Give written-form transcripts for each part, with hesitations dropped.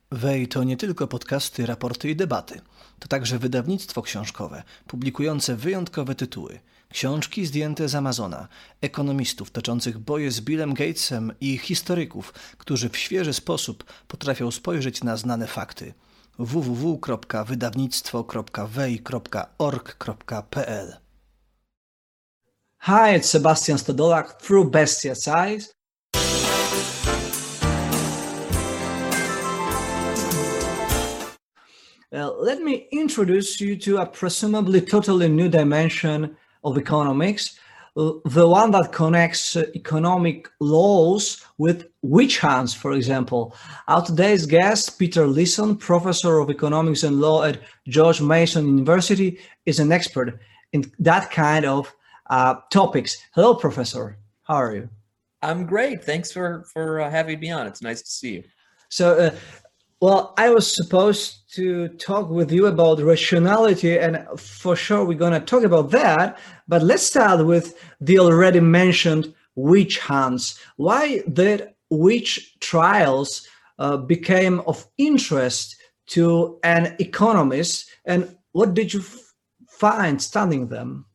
Wej to nie tylko podcasty, raporty i debaty. To także wydawnictwo książkowe, publikujące wyjątkowe tytuły. Książki zdjęte z Amazona, ekonomistów toczących boje z Billem Gatesem i historyków, którzy w świeży sposób potrafią spojrzeć na znane fakty. www.wydawnictwo.wej.org.pl Hi, it's Sebastian Stodolak through Bestia's Eyes. Let me introduce you to a presumably totally new dimension of economics, the one that connects economic laws with witch hunts, for example. Our today's guest, Peter Leeson, professor of economics and law at George Mason University, is an expert in that kind of topics. Hello, Professor. How are you? I'm great. Thanks for having me on. It's nice to see you. So, well, I was supposed to talk with you about rationality, and for sure we're going to talk about that. But let's start with the already mentioned witch hunts. Why did witch trials became of interest to an economist, and what did you find studying them?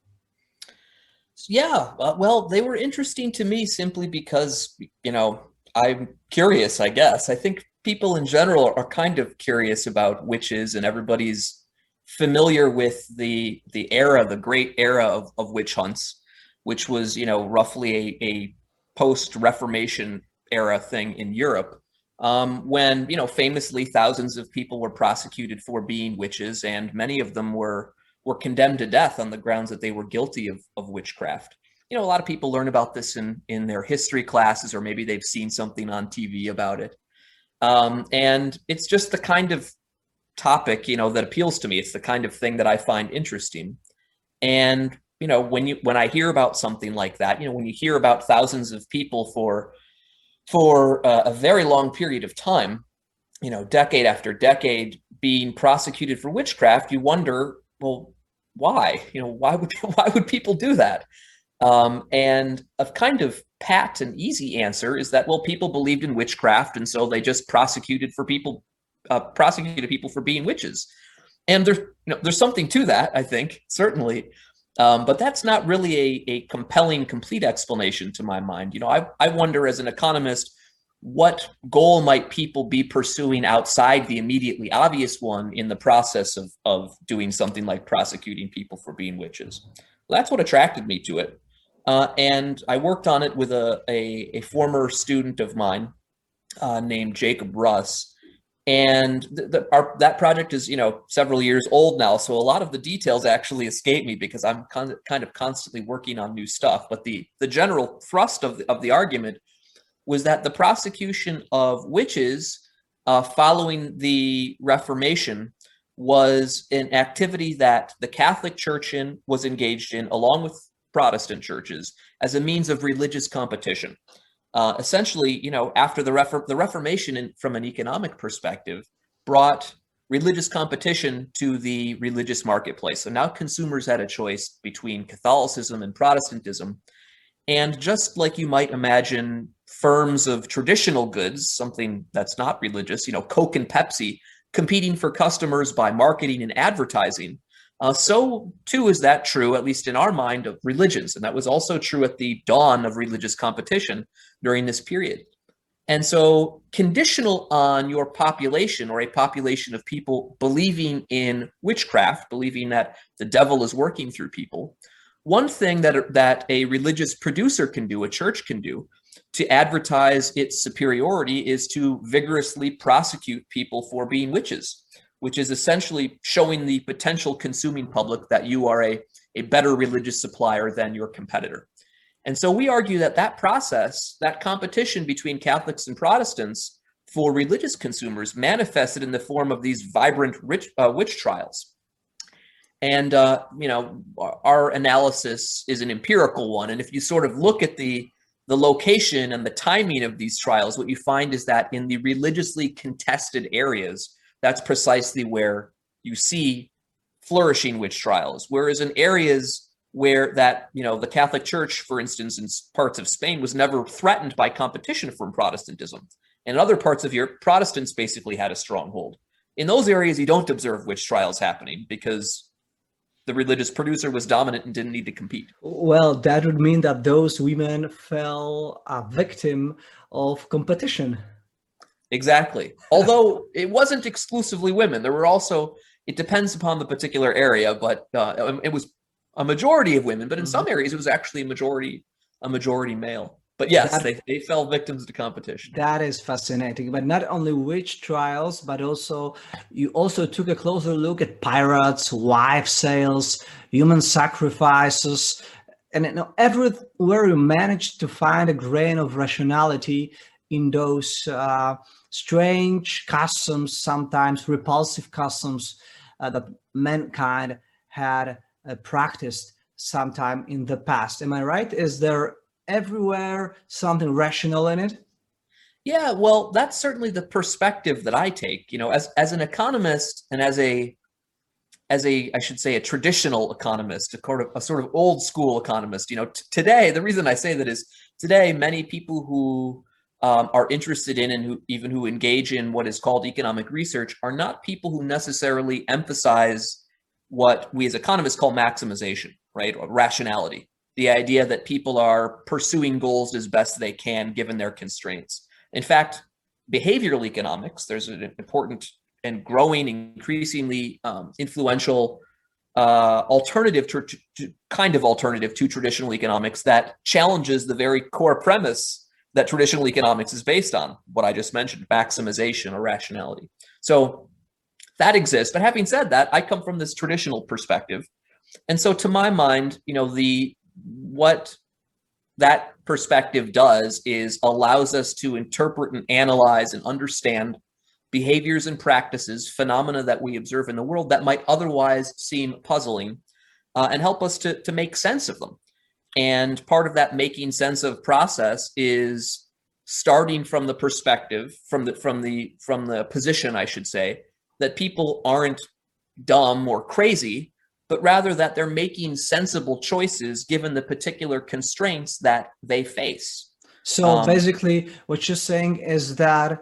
Yeah, well, they were interesting to me simply because, I'm curious, I guess. I think people in general are kind of curious about witches, and everybody's familiar with the great era of witch hunts, which was, roughly a post-Reformation era thing in Europe, when, famously thousands of people were prosecuted for being witches, and many of them were condemned to death on the grounds that they were guilty of witchcraft. A lot of people learn about this in their history classes, or maybe they've seen something on TV about it. And it's just the kind of topic, that appeals to me. It's the kind of thing that I find interesting. And, when I hear about something like that, when you hear about thousands of people for a very long period of time, decade after decade being prosecuted for witchcraft, you wonder, well, why? Why would people do that? And a kind of pat and easy answer is that, well, people believed in witchcraft, and so they just prosecuted people for being witches. And there's something to that, I think, certainly. But that's not really a compelling, complete explanation to my mind. I wonder, as an economist, what goal might people be pursuing outside the immediately obvious one in the process of doing something like prosecuting people for being witches? Well, that's what attracted me to it. And I worked on it with a former student of mine named Jacob Russ. And that project is, several years old now. So a lot of the details actually escape me because I'm kind of constantly working on new stuff. But the general thrust of the argument was that the prosecution of witches following the Reformation was an activity that the Catholic Church was engaged in, along with Protestant churches, as a means of religious competition. Essentially, after the Reformation, from an economic perspective, brought religious competition to the religious marketplace. So now consumers had a choice between Catholicism and Protestantism. And just like you might imagine firms of traditional goods, something that's not religious, Coke and Pepsi, competing for customers by marketing and advertising, so too is that true, at least in our mind, of religions. And that was also true at the dawn of religious competition during this period. And so, conditional on your population, or a population of people believing in witchcraft, believing that the devil is working through people, one thing that a religious producer can do, a church can do, to advertise its superiority is to vigorously prosecute people for being witches, which is essentially showing the potential consuming public that you are a better religious supplier than your competitor. And so we argue that process, that competition between Catholics and Protestants for religious consumers, manifested in the form of these vibrant witch trials. And, our analysis is an empirical one. And if you sort of look at the location and the timing of these trials, what you find is that in the religiously contested areas, that's precisely where you see flourishing witch trials. Whereas in areas where the Catholic Church, for instance, in parts of Spain, was never threatened by competition from Protestantism. And in other parts of Europe, Protestants basically had a stronghold. In those areas, you don't observe witch trials happening because the religious producer was dominant and didn't need to compete. Well, that would mean that those women fell a victim of competition. Exactly. Although it wasn't exclusively women. There were also, it depends upon the particular area, but it was a majority of women, but in some areas it was actually a majority male. But yes, they fell victims to competition. That is fascinating. But not only witch trials, but also you also took a closer look at pirates, wife sales, human sacrifices, and everywhere you managed to find a grain of rationality in those strange customs, sometimes repulsive customs that mankind had practiced sometime in the past. Am I right? Is there everywhere something rational in it? Yeah, well, that's certainly the perspective that I take. As an economist and as a I should say a traditional economist, a sort of old school economist. Today, the reason I say that is today many people who are interested in and who engage in what is called economic research are not people who necessarily emphasize what we as economists call maximization, right? Or rationality. The idea that people are pursuing goals as best they can given their constraints. In fact, behavioral economics, there's an important and growing, increasingly influential alternative to traditional economics that challenges the very core premise that traditional economics is based on, what I just mentioned, maximization or rationality. So that exists. But having said that, I come from this traditional perspective. And so to my mind, what that perspective does is allows us to interpret and analyze and understand behaviors and practices, phenomena that we observe in the world that might otherwise seem puzzling, and help us to make sense of them. And part of that making sense of process is starting from the perspective, from the position, I should say, that people aren't dumb or crazy, but rather that they're making sensible choices given the particular constraints that they face. So basically, what you're saying is that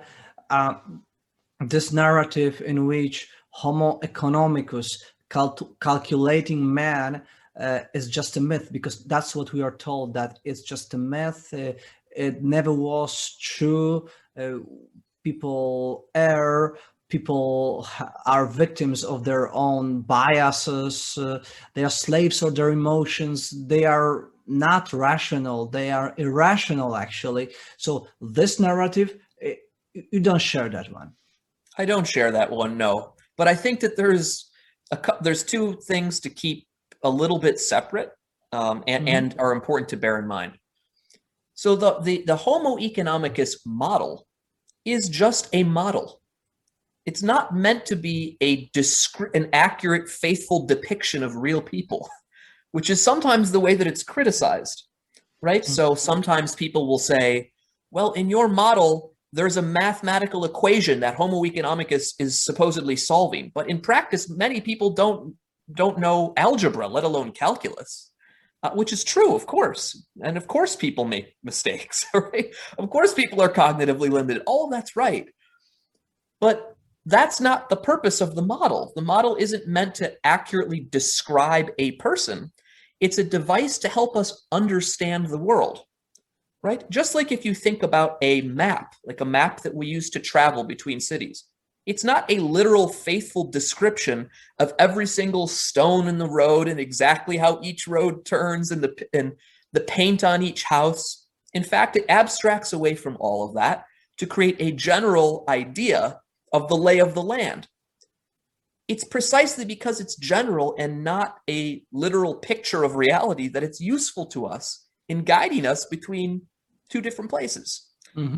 this narrative in which Homo economicus, calculating man, is just a myth, because that's what we are told, that it's just a myth. It never was true. People err. People are victims of their own biases. They are slaves of their emotions. They are not rational. They are irrational, actually. So this narrative, you don't share that one. I don't share that one, no. But I think that there's two things to keep a little bit separate and are important to bear in mind. So the Homo economicus model is just a model. It's not meant to be an accurate, faithful depiction of real people, which is sometimes the way that it's criticized, right? So sometimes people will say, well, in your model, there's a mathematical equation that Homo economicus is supposedly solving. But in practice, many people don't know algebra, let alone calculus, which is true, of course. And of course, people make mistakes, right? Of course, people are cognitively limited. All that's right. But that's not the purpose of the model. The model isn't meant to accurately describe a person. It's a device to help us understand the world, right? Just like if you think about a map, like a map that we use to travel between cities. It's not a literal, faithful description of every single stone in the road and exactly how each road turns and the paint on each house. In fact, it abstracts away from all of that to create a general idea of the lay of the land. It's precisely because it's general and not a literal picture of reality that it's useful to us in guiding us between two different places.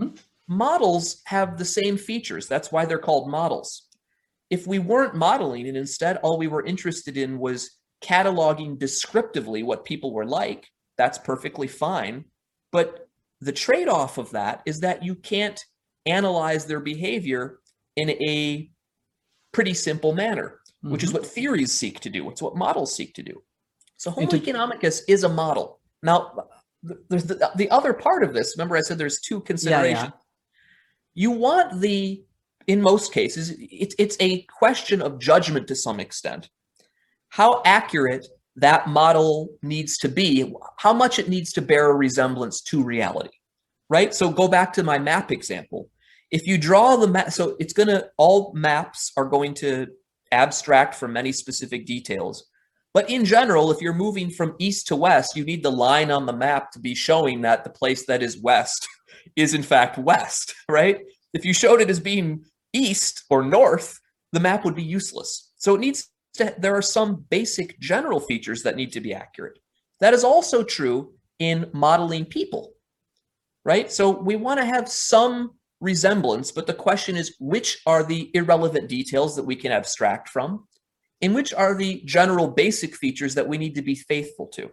Models have the same features. That's why they're called models. If we weren't modeling and instead all we were interested in was cataloging descriptively what people were like, that's perfectly fine. But the trade-off of that is that you can't analyze their behavior in a pretty simple manner, which is what theories seek to do. It's what models seek to do. So Homo economicus is a model. Now, there's the other part of this. Remember I said there's two considerations. You want in most cases, it's a question of judgment to some extent. How accurate that model needs to be, how much it needs to bear a resemblance to reality, right? So go back to my map example. If you draw the map, so all maps are going to abstract from many specific details. But in general, if you're moving from east to west, you need the line on the map to be showing that the place that is west is in fact west, right? If you showed it as being east or north, the map would be useless. So there are some basic general features that need to be accurate. That is also true in modeling people, right? So we want to have some resemblance, but the question is, which are the irrelevant details that we can abstract from, and which are the general basic features that we need to be faithful to?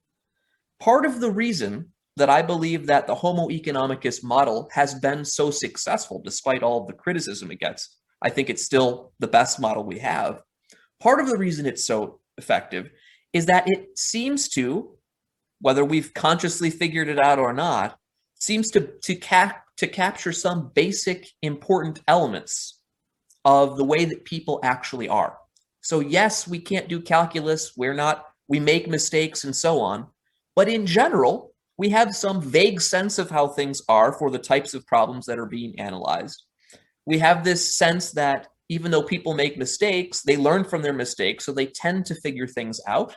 Part of the reason that I believe that the Homo economicus model has been so successful, despite all of the criticism it gets, I think it's still the best model we have. Part of the reason it's so effective is that it seems to, whether we've consciously figured it out or not, seems to capture some basic important elements of the way that people actually are. So yes, we can't do calculus, we make mistakes and so on, but in general, we have some vague sense of how things are for the types of problems that are being analyzed. We have this sense that even though people make mistakes, they learn from their mistakes, so they tend to figure things out.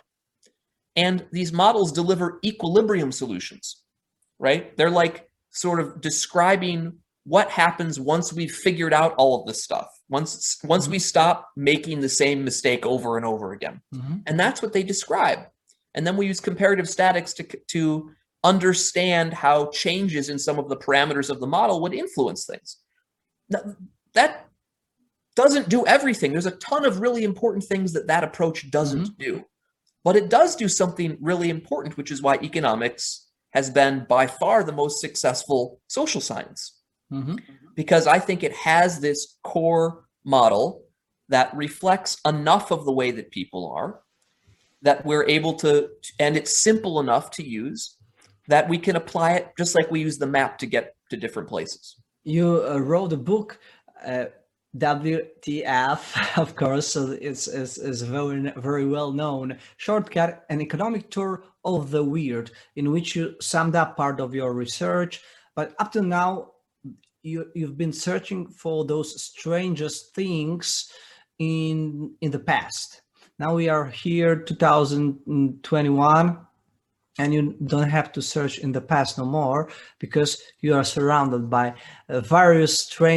And these models deliver equilibrium solutions, right? They're like sort of describing what happens once we've figured out all of this stuff, once we stop making the same mistake over and over again. And that's what they describe. And then we use comparative statics to understand how changes in some of the parameters of the model would influence things. Now, that doesn't do everything. There's a ton of really important things that approach doesn't do. But it does do something really important, which is why economics has been by far the most successful social science. Because I think it has this core model that reflects enough of the way that people are, that we're able to, and it's simple enough to use, that we can apply it just like we use the map to get to different places. You wrote a book, WTF, of course, so it's very, very well known. Shortcut, an economic tour of the weird, in which you summed up part of your research. But up to now, you've been searching for those strangest things in the past. Now we are here, 2021, and you don't have to search in the past no more, because you are surrounded by various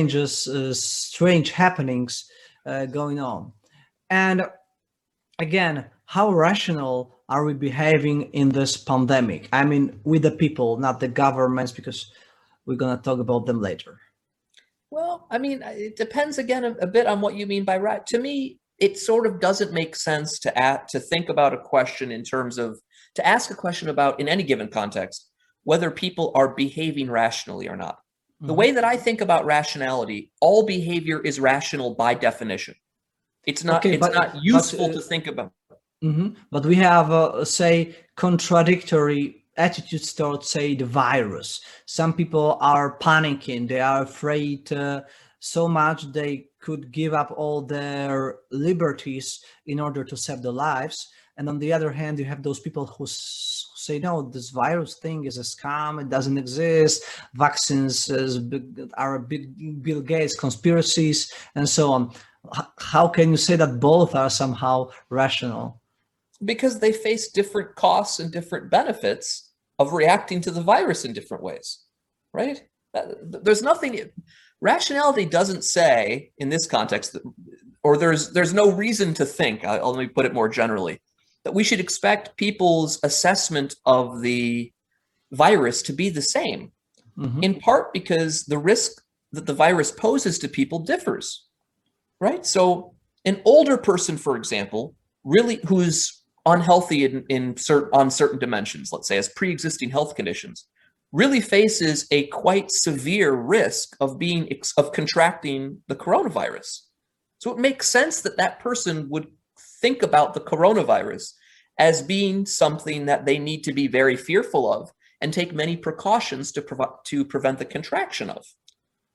strange happenings going on. And again, how rational are we behaving in this pandemic? I mean, with the people, not the governments, because we're going to talk about them later. Well, I mean, it depends again a bit on what you mean by right. To me, it sort of doesn't make sense to think about a question in terms of, to ask a question about, in any given context, whether people are behaving rationally or not. The way that I think about rationality, all behavior is rational by definition. It's not useful to think about. But we have, say, contradictory attitudes towards, say, the virus. Some people are panicking. They are afraid so much they could give up all their liberties in order to save their lives. And on the other hand, you have those people who say, no, this virus thing is a scam. It doesn't exist. Vaccines are big Bill Gates conspiracies and so on. How can you say that both are somehow rational? Because they face different costs and different benefits of reacting to the virus in different ways, right? There's nothing, rationality doesn't say in this context, or there's no reason to think, let me put it more generally, that we should expect people's assessment of the virus to be the same, in part because the risk that the virus poses to people differs, right? So an older person, for example, really who's unhealthy on certain dimensions, let's say as pre-existing health conditions, really faces a quite severe risk of contracting the coronavirus. So it makes sense that that person would think about the coronavirus as being something that they need to be very fearful of and take many precautions to prevent the contraction of.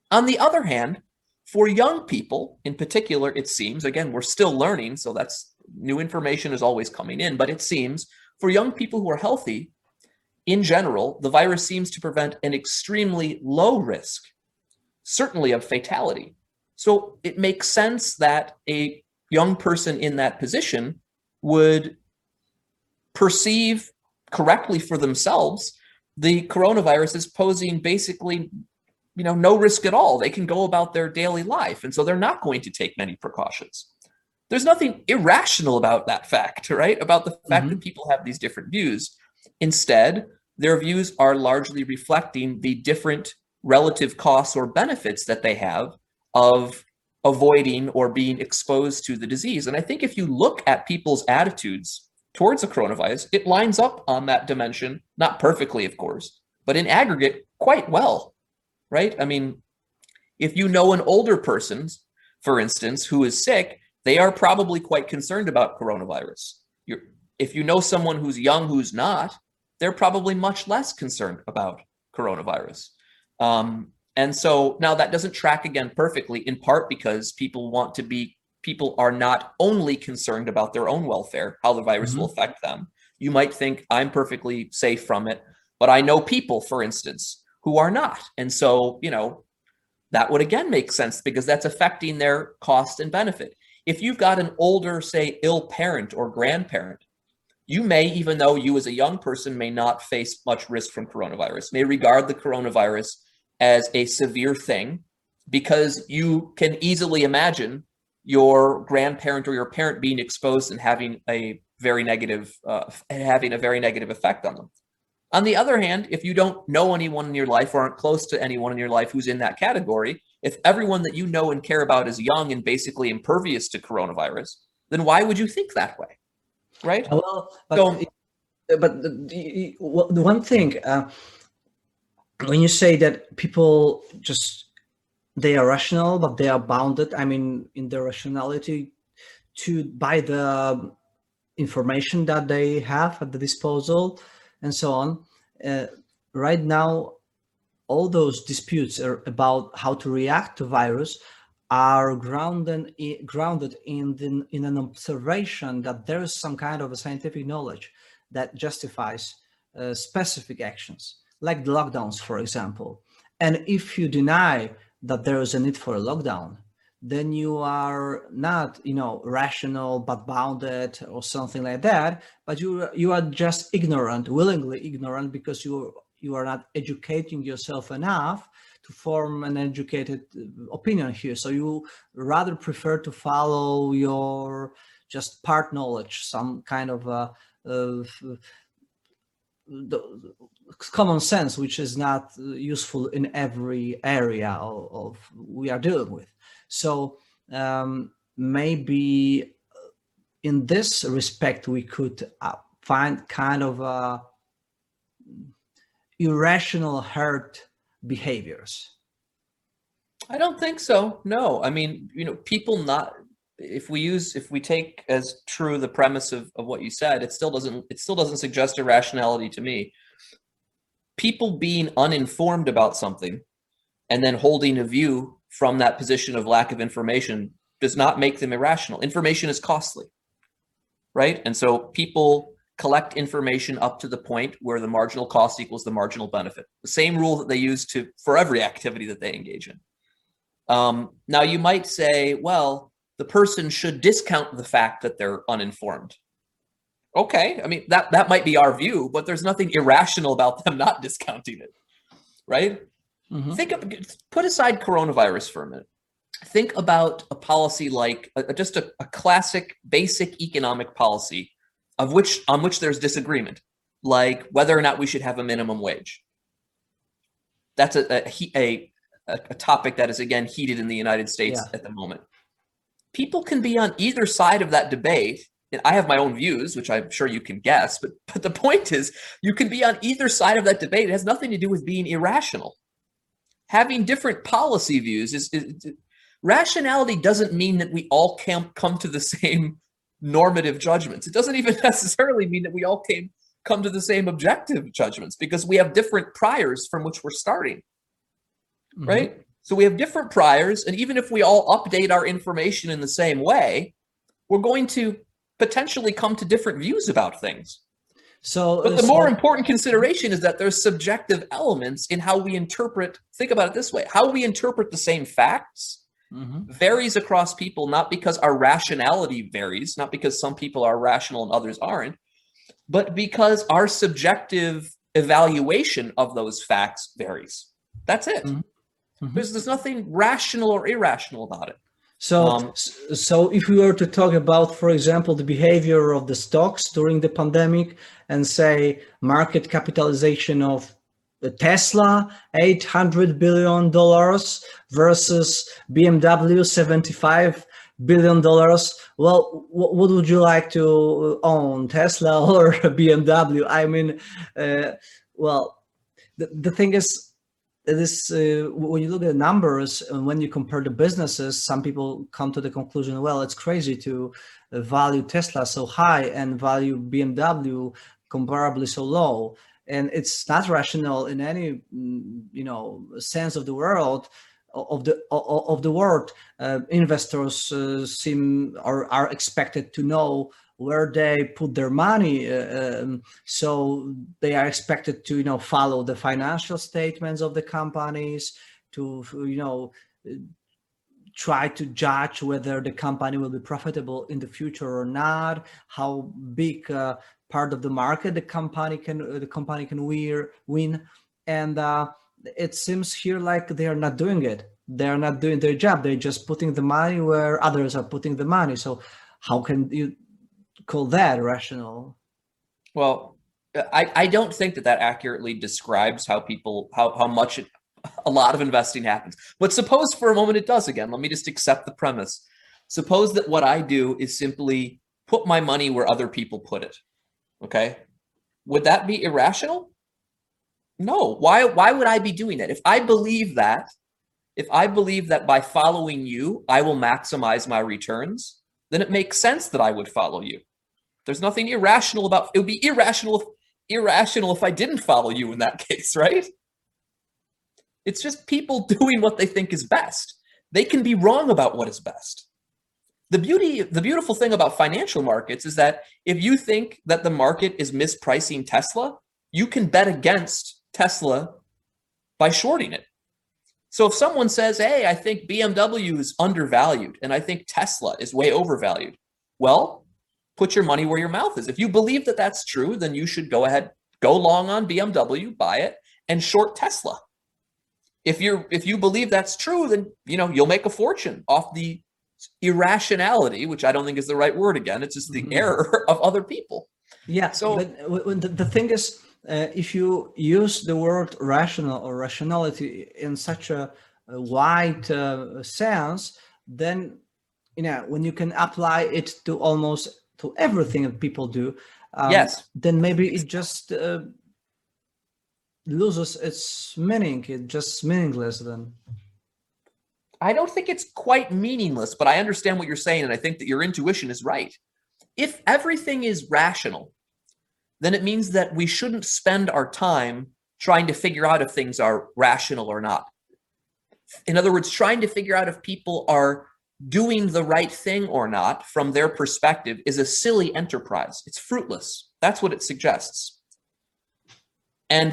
On the other hand, for young people in particular, it seems, again, we're still learning, so that's new information is always coming in, but it seems for young people who are healthy, in general, the virus seems to prevent an extremely low risk, certainly of fatality. So it makes sense that a young person in that position would perceive correctly for themselves the coronavirus is posing basically, no risk at all. They can go about their daily life, and so they're not going to take many precautions. There's nothing irrational about that fact, right? About the fact that people have these different views. Instead, their views are largely reflecting the different relative costs or benefits that they have of avoiding or being exposed to the disease. And I think if you look at people's attitudes towards the coronavirus, it lines up on that dimension, not perfectly, of course, but in aggregate, quite well, right? I mean, if you know an older person, for instance, who is sick, they are probably quite concerned about coronavirus. If you know someone who's young who's not, they're probably much less concerned about coronavirus. And so now that doesn't track again perfectly, in part because people are not only concerned about their own welfare, how the virus will affect them. You might think I'm perfectly safe from it, but I know people, for instance, who are not. And so, that would again make sense because that's affecting their cost and benefit. If you've got an older, say, ill parent or grandparent, you may, even though you as a young person may not face much risk from coronavirus, may regard the coronavirus as a severe thing because you can easily imagine your grandparent or your parent being exposed and having a very negative effect on them. On the other hand, if you don't know anyone in your life or aren't close to anyone in your life who's in that category, if everyone that you know and care about is young and basically impervious to coronavirus, then why would you think that way? Right? Well, but the one thing, when you say that people they are rational, but they are bounded, in their rationality by the information that they have at the disposal and so on. Right now, all those disputes about how to react to virus are grounded in an observation that there is some kind of a scientific knowledge that justifies specific actions, like the lockdowns, for example. And if you deny that there is a need for a lockdown, then you are not, rational but bounded or something like that. But you are just willingly ignorant, because you are not educating yourself enough to form an educated opinion here. So you rather prefer to follow your just part knowledge, some kind of common sense, which is not useful in every area of we are dealing with. So maybe in this respect, we could find kind of irrational herd behaviors. I don't think so. No, people not. If we take as true the premise of what you said, it still doesn't suggest irrationality to me. People being uninformed about something and then holding a view from that position of lack of information does not make them irrational. Information is costly, right? And so people collect information up to the point where the marginal cost equals the marginal benefit. The same rule that they use for every activity that they engage in. Now you might say, well, the person should discount the fact that they're uninformed. Okay, that might be our view, but there's nothing irrational about them not discounting it, right? Put aside coronavirus for a minute. Think about a policy like just a classic basic economic policy on which there's disagreement, like whether or not we should have a minimum wage. That's a topic that is, again, heated in the United States at the moment. People can be on either side of that debate. And I have my own views, which I'm sure you can guess, but the point is, you can be on either side of that debate. It has nothing to do with being irrational. Having different policy views rationality doesn't mean that we all can come to the same normative judgments. It doesn't even necessarily mean that we all come to the same objective judgments, because we have different priors from which we're starting, right? So we have different priors, and even if we all update our information in the same way, we're going to potentially come to different views about things. But the more important consideration is that there's subjective elements in how we interpret, think about it this way, how we interpret the same facts varies across people, not because our rationality varies, not because some people are rational and others aren't, but because our subjective evaluation of those facts varies. That's it. There's nothing rational or irrational about it. So if we were to talk about, for example, the behavior of the stocks during the pandemic and say market capitalization of Tesla, $800 billion versus BMW, $75 billion. Well, what would you like to own, Tesla or BMW? I mean, well, the thing is, when you look at the numbers and when you compare the businesses, some people come to the conclusion, well, it's crazy to value Tesla so high and value BMW comparably so low. And it's not rational in any, sense of the world. Of the world, investors are expected to know where they put their money, so they are expected to follow the financial statements of the companies, to try to judge whether the company will be profitable in the future or not, how big part of the market the company can win, and it seems here like they are not doing it. They are not doing their job. They're just putting the money where others are putting the money. So how can you call that rational? Well, I don't think that accurately describes how much a lot of investing happens. But suppose for a moment it does again. Let me just accept the premise. Suppose that what I do is simply put my money where other people put it. Okay? Would that be irrational? No. Why would I be doing that? If I believe that by following you, I will maximize my returns, then it makes sense that I would follow you. There's nothing irrational about it. Would be irrational if I didn't follow you in that case, right? It's just people doing what they think is best. They can be wrong about what is best. The beautiful thing about financial markets is that if you think that the market is mispricing Tesla, you can bet against Tesla by shorting it. So if someone says, hey, I think BMW is undervalued and I think Tesla is way overvalued, well, put your money where your mouth is. If you believe that that's true, then you should go ahead, go long on BMW, buy it, and short Tesla. If you believe that's true, then you'll make a fortune off the irrationality, which I don't think is the right word again. It's just the error of other people. Yeah. So but the thing is, if you use the word rational or rationality in such a wide sense, then when you can apply it to almost to everything that people do, yes, then maybe it just loses its meaning. It's just meaningless then. I don't think it's quite meaningless, but I understand what you're saying, and I think that your intuition is right. If everything is rational, then it means that we shouldn't spend our time trying to figure out if things are rational or not. In other words, trying to figure out if people are doing the right thing or not from their perspective is a silly enterprise. It's fruitless. That's what it suggests. And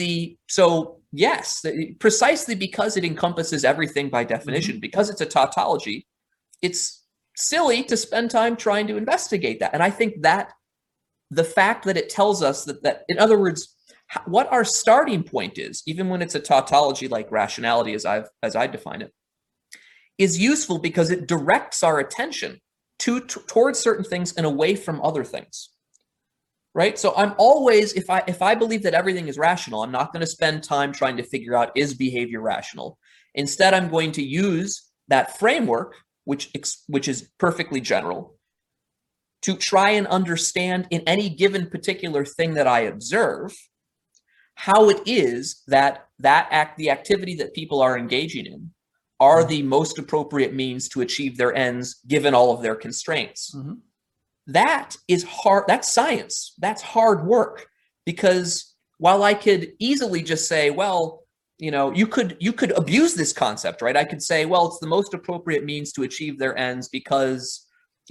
yes, precisely because it encompasses everything by definition, because it's a tautology, it's silly to spend time trying to investigate that. And I think that the fact that it tells us that in other words, what our starting point is, even when it's a tautology like rationality, as I define it, is useful because it directs our attention towards certain things and away from other things. Right? So I'm always, if I believe that everything is rational, I'm not going to spend time trying to figure out, is behavior rational? Instead, I'm going to use that framework, which is perfectly general, to try and understand in any given particular thing that I observe, how it is that the activity that people are engaging in are the most appropriate means to achieve their ends given all of their constraints. Mm-hmm. That is hard. That's science. That's hard work, because while I could easily just say, well, you could abuse this concept, right? I could say, well, it's the most appropriate means to achieve their ends because,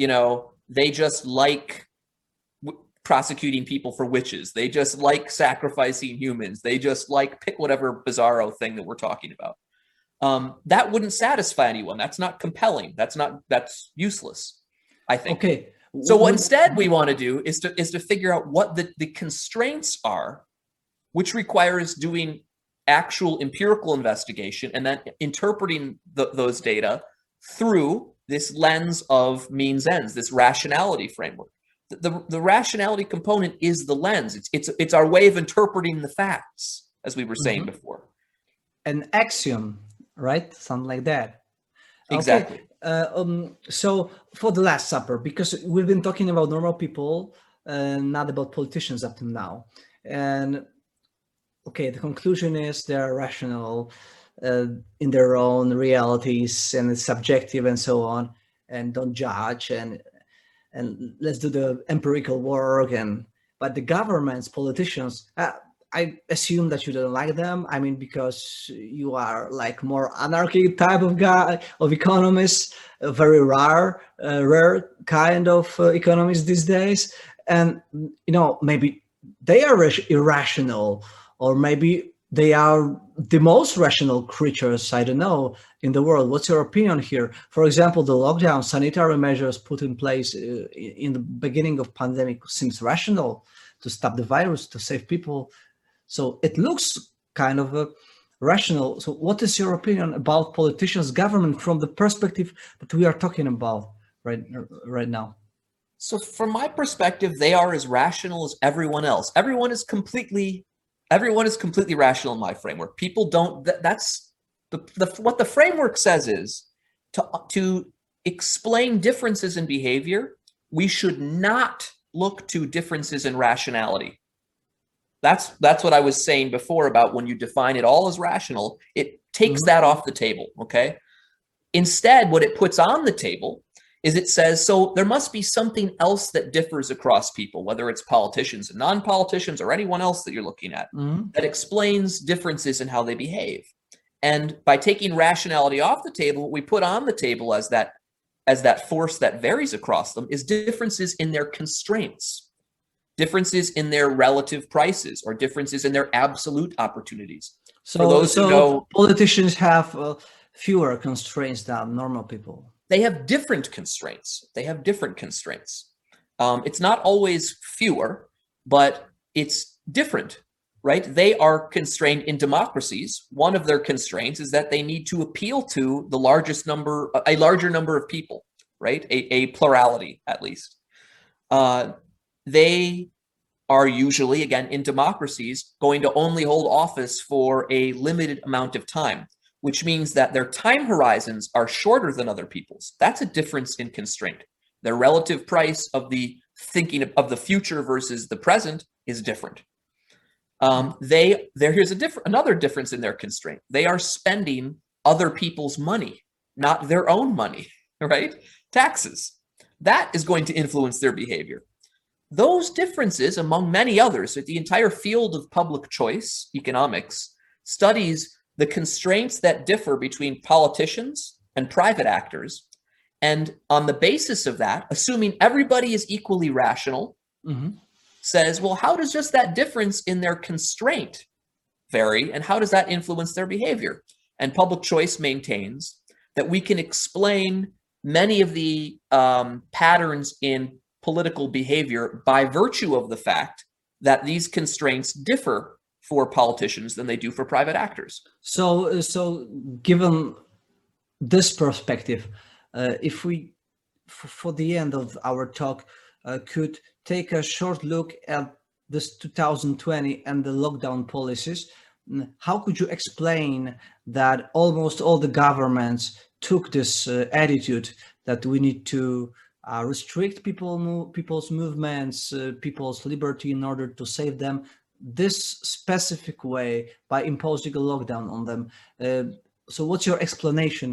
they just like prosecuting people for witches. They just like sacrificing humans. They just like pick whatever bizarro thing that we're talking about. That wouldn't satisfy anyone. That's not compelling. That's useless, I think. Okay. So what instead we want to do is to figure out what the constraints are, which requires doing actual empirical investigation and then interpreting those data through this lens of means ends, this rationality framework. The rationality component is the lens. It's our way of interpreting the facts, as we were saying before. An axiom, right? Something like that. Exactly. Okay. So for the Last Supper, because we've been talking about normal people, not about politicians up to now. And okay, the conclusion is they're rational in their own realities and it's subjective and so on, and don't judge and let's do the empirical work. But the governments, politicians, I assume that you don't like them. I mean, because you are like more anarchy type of guy, of economist, a very rare kind of economist these days. And, maybe they are irrational, or maybe they are the most rational creatures, I don't know, in the world. What's your opinion here? For example, the lockdown, sanitary measures put in place in the beginning of pandemic seems rational to stop the virus, to save people. So it looks kind of rational. So what is your opinion about politicians, government, from the perspective that we are talking about right now? So from my perspective, they are as rational as everyone else. Everyone is completely rational in my framework. People don't, that's what the framework says is to explain differences in behavior, we should not look to differences in rationality. That's what I was saying before about when you define it all as rational, it takes that off the table, okay? Instead, what it puts on the table is it says, so there must be something else that differs across people, whether it's politicians and non-politicians or anyone else that you're looking at, that explains differences in how they behave. And by taking rationality off the table, what we put on the table as that force that varies across them is differences in their constraints, differences in their relative prices, or differences in their absolute opportunities. So, for those who know, politicians have fewer constraints than normal people. They have different constraints. It's not always fewer, but it's different, right? They are constrained in democracies. One of their constraints is that they need to appeal to a larger number of people, right? A plurality, at least. They are usually, again, in democracies, going to only hold office for a limited amount of time, which means that their time horizons are shorter than other people's. That's a difference in constraint. Their relative price of the thinking of the future versus the present is different. Here's another difference in their constraint. They are spending other people's money, not their own money, right? Taxes. That is going to influence their behavior. Those differences, among many others, the entire field of public choice economics studies the constraints that differ between politicians and private actors. And on the basis of that, assuming everybody is equally rational, says, well, how does just that difference in their constraint vary? And how does that influence their behavior? And public choice maintains that we can explain many of the patterns in political behavior by virtue of the fact that these constraints differ for politicians than they do for private actors. So given this perspective, if we, for the end of our talk, could take a short look at this 2020 and the lockdown policies, how could you explain that almost all the governments took this attitude that we need to restrict people's movements, people's liberty in order to save them this specific way by imposing a lockdown on them? So what's your explanation,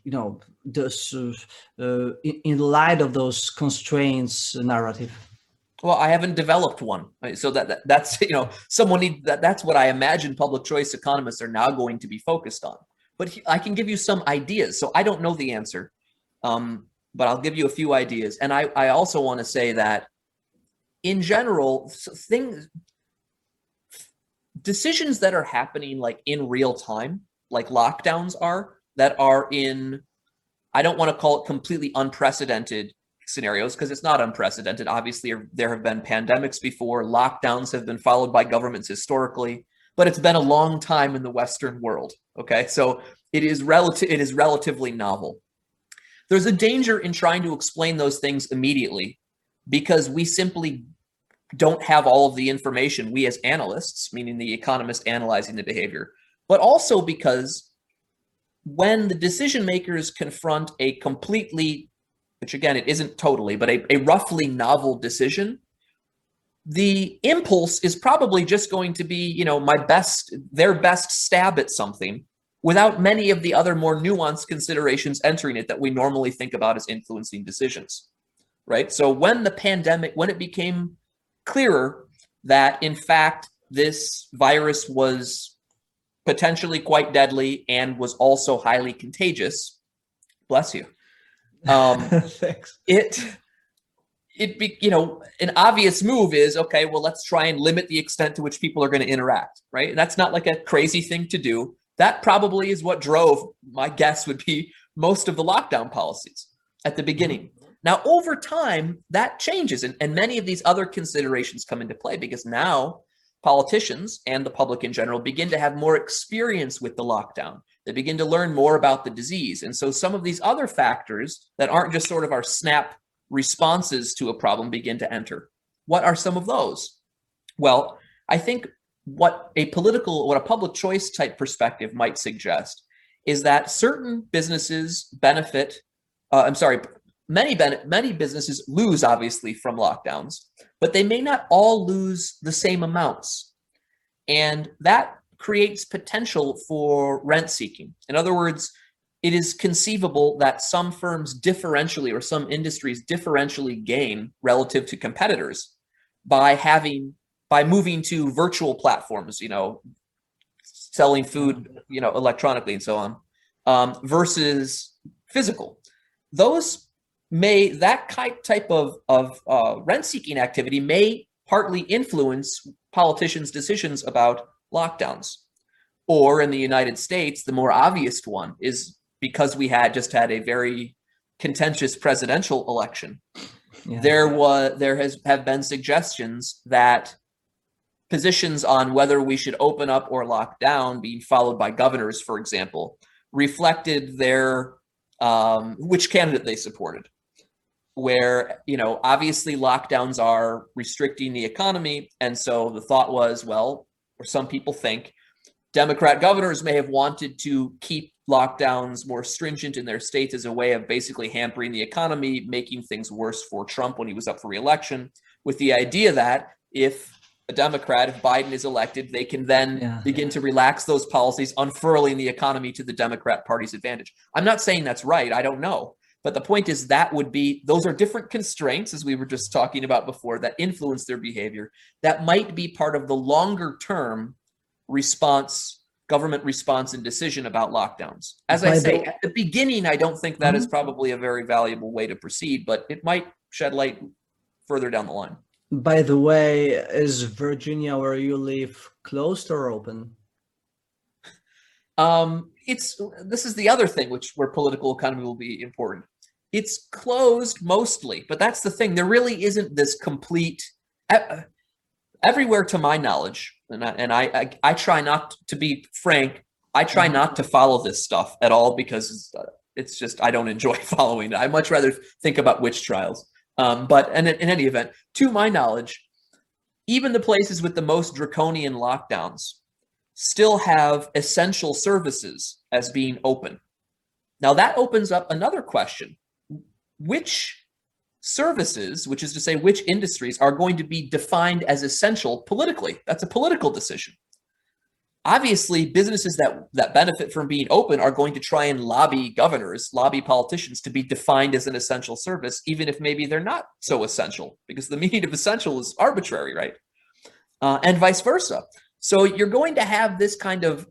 in light of those constraints narrative? Well, I haven't developed one, so that's someone that's what I imagine public choice economists are now going to be focused on. But I can give you some ideas. So I don't know the answer, but I'll give you a few ideas. And I also want to say that in general, decisions that are happening like in real time, like lockdowns are, that are in, I don't want to call it completely unprecedented scenarios because it's not unprecedented. Obviously, there have been pandemics before, lockdowns have been followed by governments historically, but it's been a long time in the Western world. Okay, so it is relatively novel. There's a danger in trying to explain those things immediately because we simply don't have all of the information, we as analysts, meaning the economist analyzing the behavior, but also because when the decision makers confront a completely, which again, it isn't totally, but a roughly novel decision, the impulse is probably just going to be, their best stab at something without many of the other more nuanced considerations entering it that we normally think about as influencing decisions, right? So when it became clearer that in fact this virus was potentially quite deadly and was also highly contagious, bless you. Thanks. An obvious move is, okay, well, let's try and limit the extent to which people are going to interact, right? And that's not like a crazy thing to do. That probably is what drove, my guess would be, most of the lockdown policies at the beginning. Now, over time, that changes, and many of these other considerations come into play because now politicians and the public in general begin to have more experience with the lockdown. They begin to learn more about the disease. And so some of these other factors that aren't just sort of our snap responses to a problem begin to enter. What are some of those? Well, I think what a public choice type perspective might suggest is that certain businesses benefit, many businesses lose obviously from lockdowns, but they may not all lose the same amounts. And that creates potential for rent seeking. In other words, it is conceivable that some firms differentially or some industries differentially gain relative to competitors by moving to virtual platforms, selling food, electronically and so on, versus physical. That type of rent-seeking activity may partly influence politicians' decisions about lockdowns. Or in the United States, the more obvious one is because we just had a very contentious presidential election. Yeah. There have been suggestions that positions on whether we should open up or lock down, being followed by governors, for example, reflected their which candidate they supported. Where, obviously lockdowns are restricting the economy. And so the thought was, well, or some people think, Democrat governors may have wanted to keep lockdowns more stringent in their states as a way of basically hampering the economy, making things worse for Trump when he was up for re-election, with the idea that if Biden is elected, they can then begin to relax those policies, unfurling the economy to the Democrat Party's advantage. I'm not saying that's right. I don't know. But the point is those are different constraints, as we were just talking about before, that influence their behavior. That might be part of the longer term government response and decision about lockdowns. As I say, at the beginning, I don't think that is probably a very valuable way to proceed, but it might shed light further down the line. By the way, is Virginia, where you live, closed or open? This is the other thing where political economy will be important. It's closed mostly, but that's the thing. There really isn't this complete everywhere, to my knowledge, and I try not to be frank. I try not to follow this stuff at all because it's just I don't enjoy following it. I much rather think about witch trials. But in any event, to my knowledge, even the places with the most draconian lockdowns still have essential services as being open. Now that opens up another question. Which services, which is to say which industries, are going to be defined as essential politically? That's a political decision. obviously businesses that benefit from being open are going to try and lobby governors, lobby politicians to be defined as an essential service, even if maybe they're not so essential, because the meaning of essential is arbitrary, right? And vice versa. So you're going to have this kind of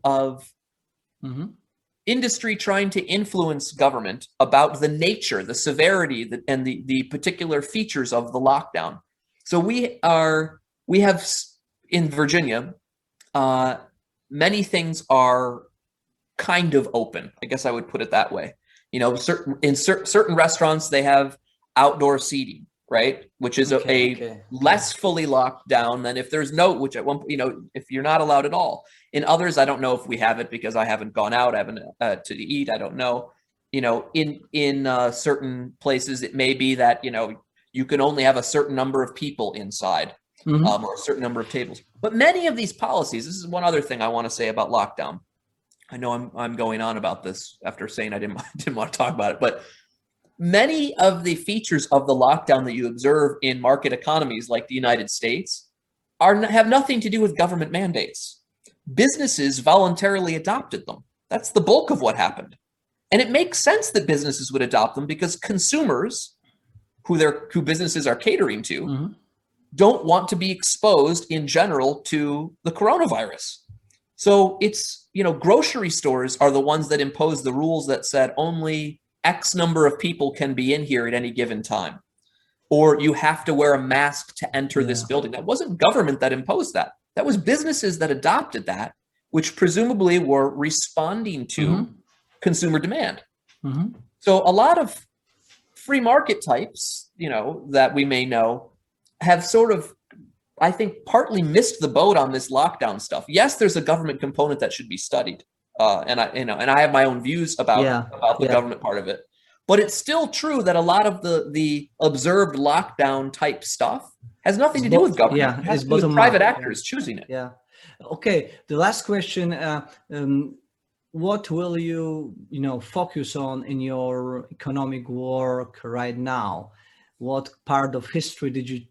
industry trying to influence government about the nature, the severity, and the particular features of the lockdown. So we have in Virginia, many things are kind of open. I guess I would put it that way. You know, certain restaurants, they have outdoor seating, right? Which is less fully locked down than if there's no, which at one point, you know, if you're not allowed at all. In others, I don't know if we have it because I haven't gone out, I haven't to eat. I don't know. You know, in certain places, it may be that, you know, you can only have a certain number of people inside. Or a certain number of tables. But many of these policies, this is one other thing I want to say about lockdown. I know I'm going on about this after saying I didn't want to talk about it, but many of the features of the lockdown that you observe in market economies like the United States have nothing to do with government mandates. Businesses voluntarily adopted them. That's the bulk of what happened. And it makes sense that businesses would adopt them because consumers who businesses are catering to don't want to be exposed in general to the coronavirus. So it's, you know, grocery stores are the ones that impose the rules that said only X number of people can be in here at any given time. Or you have to wear a mask to enter this building. That wasn't government that imposed that. That was businesses that adopted that, which presumably were responding to consumer demand. So a lot of free market types, you know, that we may know, have sort of, I think, partly missed the boat on this lockdown stuff. Yes, there's a government component that should be studied, and I have my own views about the government part of it. But it's still true that a lot of the observed lockdown type stuff has nothing to do with government. Yeah, it has to do with private actors choosing it. Yeah. Okay. The last question: what will you focus on in your economic work right now? What part of history did you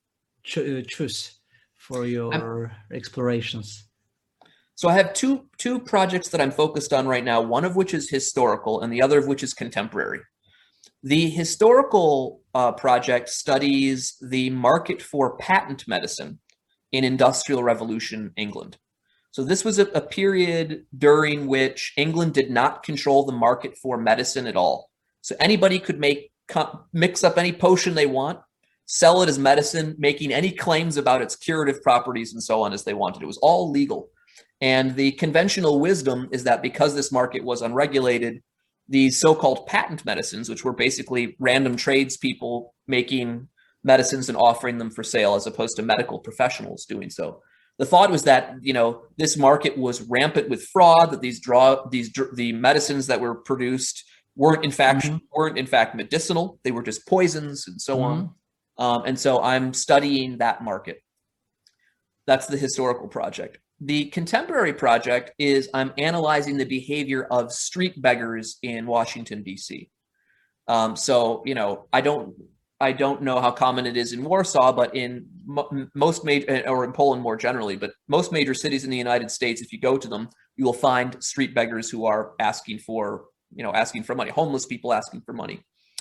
choose for your explorations? So I have two projects that I'm focused on right now, one of which is historical and the other of which is contemporary. The historical project studies the market for patent medicine in Industrial Revolution England. So this was a period during which England did not control the market for medicine at all. So anybody could mix up any potion they want, sell it as medicine, making any claims about its curative properties and so on as they wanted. It was all legal. And the conventional wisdom is that because this market was unregulated, these so-called patent medicines, which were basically random tradespeople making medicines and offering them for sale as opposed to medical professionals doing so. The thought was that, you know, this market was rampant with fraud, that the medicines that were produced weren't in fact medicinal. They were just poisons and so on. And so I'm studying that market. That's the historical project. The contemporary project is I'm analyzing the behavior of street beggars in Washington, D.C. So, you know, I don't know how common it is in Warsaw, but in most major, or in Poland more generally, but most major cities in the United States, if you go to them, you will find street beggars who are asking for money, homeless people asking for money.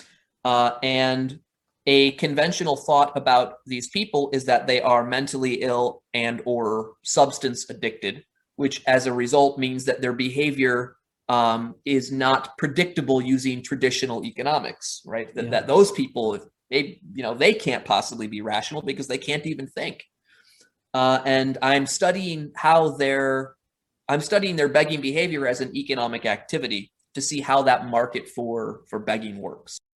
And a conventional thought about these people is that they are mentally ill and or substance addicted, which as a result means that their behavior is not predictable using traditional economics, right? That those people, they can't possibly be rational because they can't even think. And I'm studying their begging behavior as an economic activity to see how that market for begging works.